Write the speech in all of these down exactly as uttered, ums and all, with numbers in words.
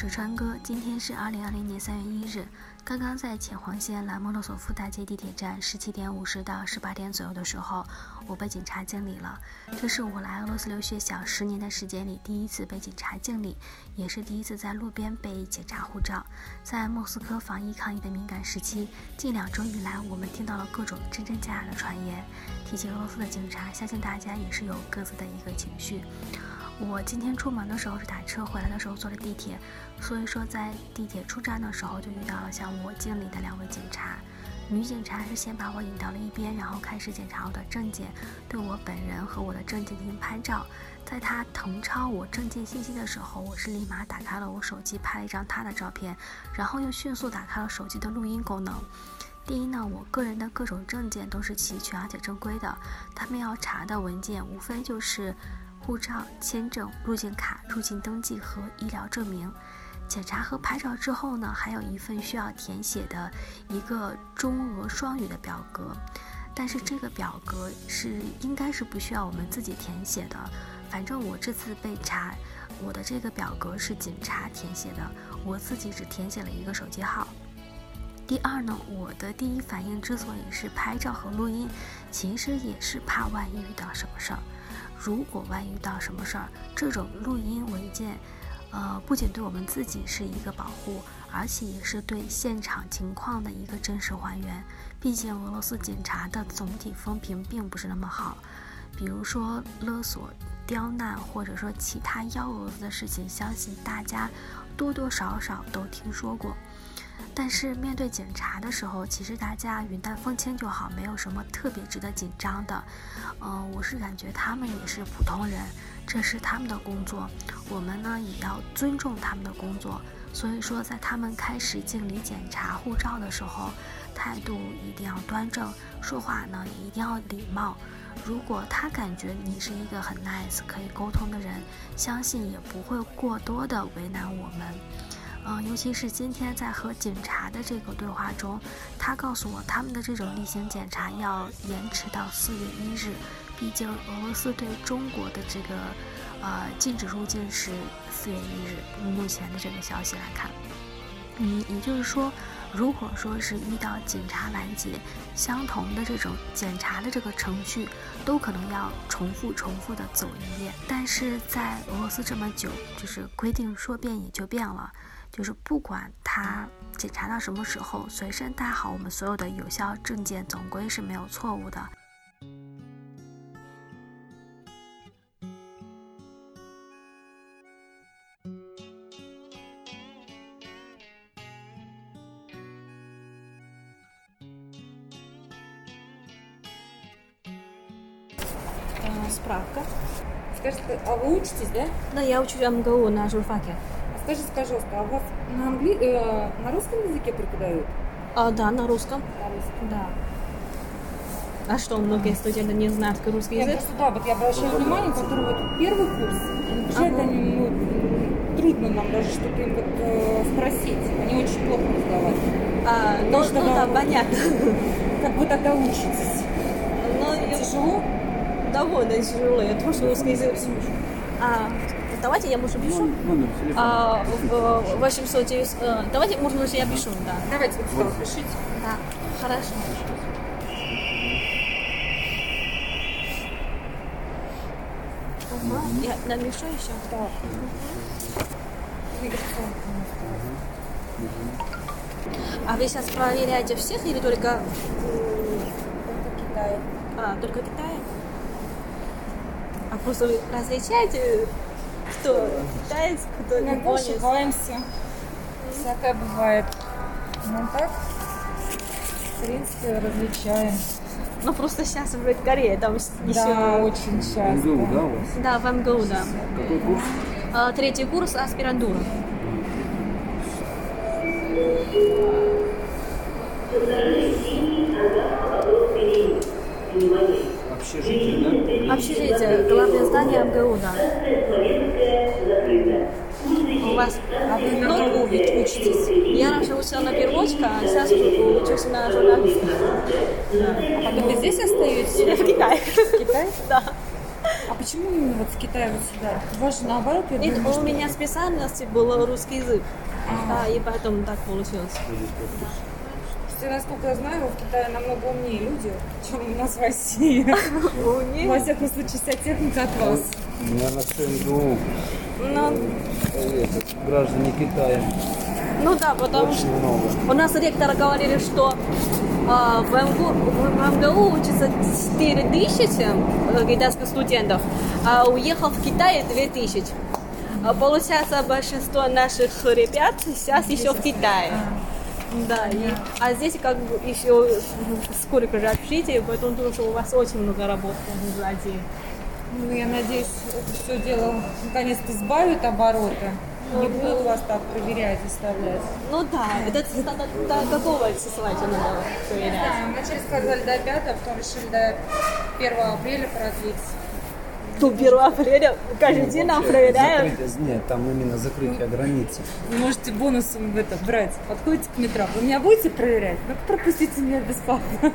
是川哥，今天是二零二零年三月一日。刚刚在浅黄线兰莫洛索夫大街地铁站十七点五十到十八点左右的时候，我被警察敬礼了。这是我来俄罗斯留学小十年的时间里第一次被警察敬礼，也是第一次在路边被检查护照。在莫斯科防疫抗疫的敏感时期，近两周以来，我们听到了各种真真假假的传言。提起俄罗斯的警察，相信大家也是有各自的一个情绪。我今天出门的时候是打车，回来的时候坐了地铁，所以说在地铁出站的时候就遇到了向我敬礼的两位警察。女警察是先把我引到了一边，然后开始检查我的证件，对我本人和我的证件进行拍照。在她誊抄我证件信息的时候，我是立马打开了我手机拍了一张她的照片，然后又迅速打开了手机的录音功能。第一呢，我个人的各种证件都是齐全而且正规的，他们要查的文件无非就是护照、签证、入境卡、入境登记和医疗证明。检查和拍照之后呢，还有一份需要填写的一个中俄双语的表格，但是这个表格是应该是不需要我们自己填写的。反正我这次被查，我的这个表格是警察填写的，我自己只填写了一个手机号。第二呢，我的第一反应之所以是拍照和录音，其实也是怕万一遇到什么事儿。如果万一遇到什么事儿，这种录音文件，呃，不仅对我们自己是一个保护，而且也是对现场情况的一个真实还原。毕竟俄罗斯警察的总体风评并不是那么好，比如说勒索、刁难，或者说其他幺蛾子的事情，相信大家多多少少都听说过。但是面对检查的时候，其实大家云淡风轻就好，没有什么特别值得紧张的。呃，我是感觉他们也是普通人，这是他们的工作，我们呢也要尊重他们的工作。所以说，在他们开始敬礼检查护照的时候，态度一定要端正，说话呢也一定要礼貌。如果他感觉你是一个很 nice 可以沟通的人，相信也不会过多的为难我们。嗯，尤其是今天在和警察的这个对话中，他告诉我他们的这种例行检查要延迟到四月一日，毕竟俄罗斯对中国的这个呃禁止入境是四月一日，目前的这个消息来看，嗯，也就是说，如果说是遇到警察拦截，相同的这种检查的这个程序，都可能要重复重复的走一遍。但是在俄罗斯这么久，就是规定说变也就变了。就是不管他检查到什么时候，随身带好我们所有的有效证件，总归是没有错误的。 Справка. Скажите, а вы учитесь, да? Да, я учусь в эм гэ у на журфаке. Скажите, пожалуйста, а у вас на, англи... э, на русском языке преподают? А, да, на русском. На русском. Да. А что, многие студенты не знают русский Нет, язык? просто, да, вот я обращаю внимание, которые вот первый курс, бюджет, ага. они, ну, трудно нам даже что-то им вот э, спросить, они очень плохо разговаривают. А, ну, что, ну да, да, понятно. Как вы тогда учитесь? Но Тяжело? Довольно тяжело, я тоже русский язык. А, давайте я, может, пишу. А, восемьсот девяносто. Давайте, может, я пишу, да. Давайте вот сюда пишите. Да, хорошо. Ага, я напишу еще. Да. А вы сейчас проверяете всех или только... Только Китай. А, только Китай? А просто вы различаете, кто китаец, кто Иногда японец? ошибаемся. Всякое бывает. Но так, в принципе, различаем. Ну, просто сейчас в Корее там еще... Да, очень часто. эм гэ у, да, у вас? Да, в эм гэ у, да. Какой курс? А, третий курс аспирантура. Общежитие, да? Общежитие, главное здание эм гэ у, да. У вас... А вы на кого ведь учитесь? Я раньше учила на переводчика, а сейчас учусь на журналиста. А потом вы здесь остаетесь? В Китае. В Китае? Да. А почему именно вот с Китая вот сюда? У вас же наоборот, я Нет, думаю, у что- меня специальность был русский язык. Да, и поэтому так получилось. Что, насколько я знаю, в Китае намного умнее люди, чем у нас в России. Умнее? Во всяком случае, вся техника от вас. Наверное, все МГУ. Ну, Этот, граждане Китая. ну да, потому что Очень много. у нас ректор говорили, что а, в, МГУ, в МГУ учатся четыре тысячи э, китайских студентов, а уехал в Китай две тысячи. А получается, большинство наших ребят сейчас еще в Китае. Да, и, а здесь как бы еще сколько же общителей, поэтому думаю, что у вас очень много работы сзади. Ну, я надеюсь, это все дело наконец-то сбавит обороты. Не будут вас так проверять, заставлять. Ну да, это до, до, до какого числа это надо проверять? Да, вначале сказали до пятого, потом решили до первого апреля продлить. Ну, первого апреля каждый день нам проверяют. Закрытие, нет, там именно закрытие границы. Вы можете бонусом в это брать. Подходите к метро. Вы меня будете проверять? Ну пропустите меня бесплатно.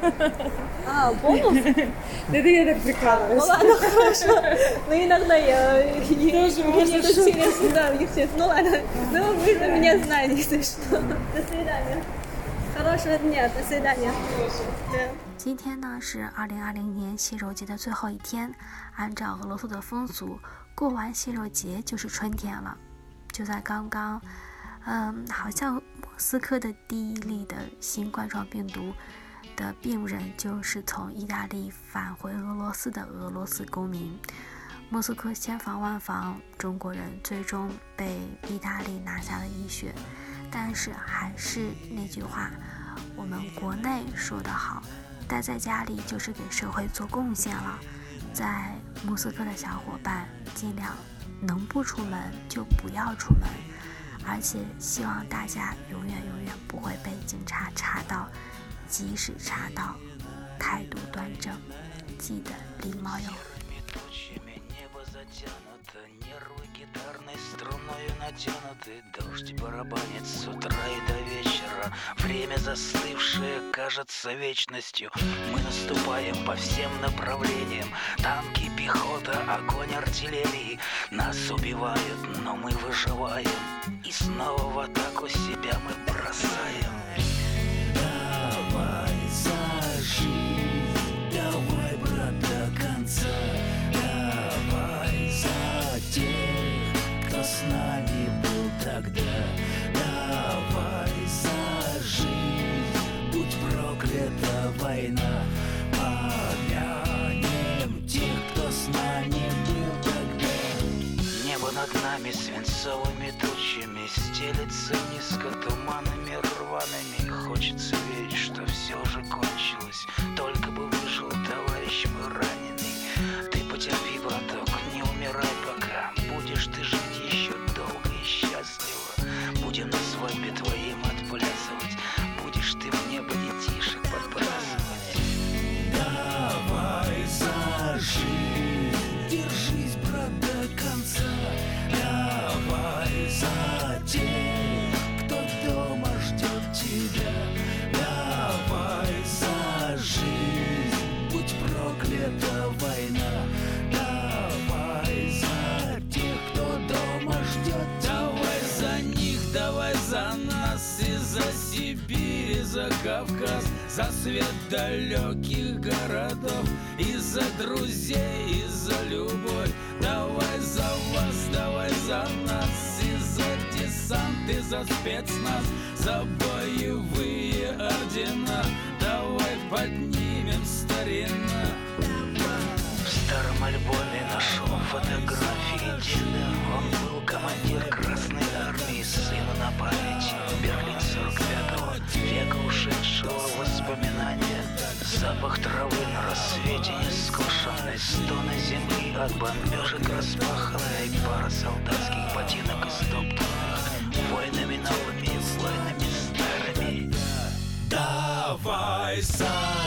А, бонус? Это я так Ну прикалываюсь. ладно, хорошо. Но иногда я... Тоже мне можно это интересно, да, естественно. Ну ладно, ну вы же меня знаете, если что. До свидания. Хорошего дня, до свидания. Да. 今天呢是二零二零年蟹肉节的最后一天，按照俄罗斯的风俗，过完蟹肉节就是春天了。就在刚刚，嗯，好像莫斯科的第一例的新冠状病毒的病人就是从意大利返回俄罗斯的俄罗斯公民。莫斯科千防万防，中国人最终被意大利拿下了一血。但是还是那句话，我们国内说得好，待在家里就是给社会做贡献了。在莫斯科的小伙伴，尽量能不出门就不要出门，而且希望大家永远永远不会被警察查到，即使查到，态度端正，记得礼貌哟。 Нервы гитарной струною натянуты, дождь барабанит с утра и до вечера. Время застывшее кажется вечностью. Мы наступаем по всем направлениям. Танки, пехота, огонь артиллерии. Нас убивают, но мы выживаем. И снова в атаку себя мы бросаем. Давай за жизнь, давай, брат, до конца. Тех, кто с нами был тогда, давай за жизнь, будь проклята война. Помянем тех, кто с нами был тогда. Небо над нами свинцовыми тучами стелется низко туманами рваными. Хочется верить, что все же кончилось, только бы выжил товарищ мой раненый. Ты потерпи, браток, не умирай пока. Будешь ты жить еще долго и счастливо. Будем на свадьбе твоим отплясывать. Будешь ты в небо детишек подбрасывать. Давай за жизнь, держись, брат, до конца. Давай за тех, кто дома ждет тебя. Давай за жизнь, будь проклята война. За нас и за Сибирь, и за Кавказ, за свет далеких городов, и за друзей, и за любовь. Давай за вас, давай за нас, и за десант, и за спецназ, за боевые ордена. Давай поднимем старина. В старом альбоме нашел фотографии деда. Он был командир Красной Армии, сыну на память. Берлин сорок пятого века ушедшего воспоминания. Запах травы на рассвете нескошенной, стоны земли от бомбежек распаханной, пара солдатских ботинок истоптанных войнами новыми, войнами старыми. Давай за